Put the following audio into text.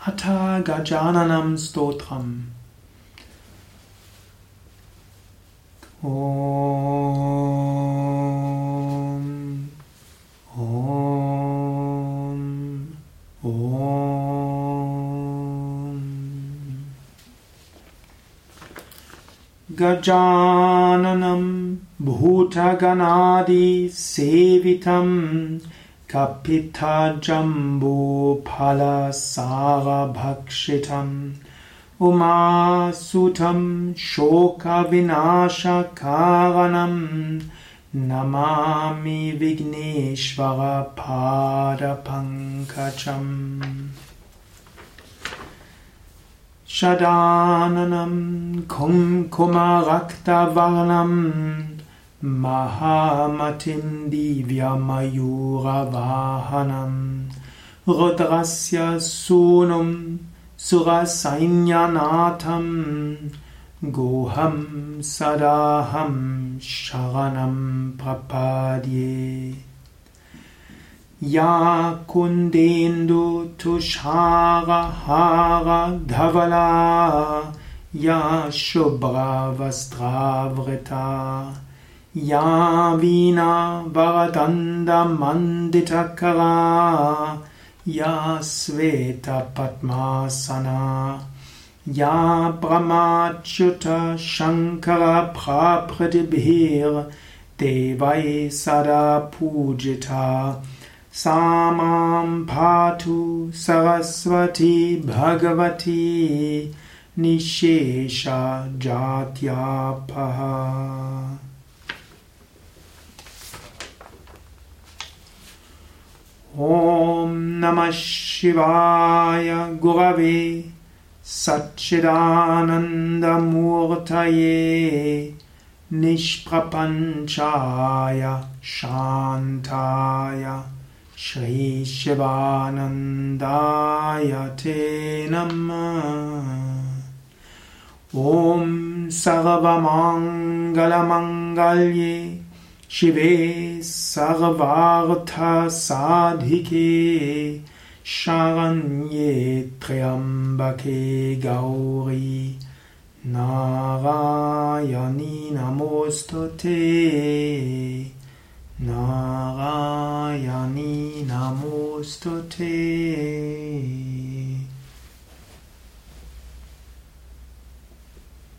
Atha Gajananam Stotram. Om, Om, Om. Gajananam Bhutaganadi Sevitam Kapita Jambu Phala Sara Bhakshitam Umasutam Shoka Vinasha Karanam Namami Vigneshvara Pada Pankacham Shadananam Kumkumarakta Varnam Mahamatim Divya Mayura Vahanam Rudrasya Sunum Surasainyanatam Goham Sadaham Sharanam Prapadye Ya Kundendu Tushara Hara Dhavala Ya Shubhra Vastravrita Ya Vina Varadanda Manditakara Ya Sveta Padmasana Ya Brahmachyuta Shankara Prapratibhir Devai Sada Pujita Samam Patu Saraswati Bhagavati Nishesha Jatyapaha. Om Namah Shivaya Gurave Satchidananda Murtaye Nishprapanchaya Shantaya Shri Shivanandaya Te Namah. Om Sarvamangala Mangalye Shive Sarvartha Sadhike Sharanye Triambake Gauri Narayani Namostute Narayani Namostute.